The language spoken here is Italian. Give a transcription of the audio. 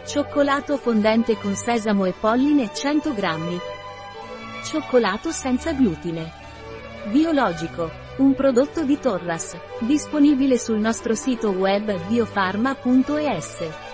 Cioccolato fondente con sesamo e polline 100 grammi. Cioccolato senza glutine. Biologico. Un prodotto di Torras. Disponibile sul nostro sito web biofarma.es.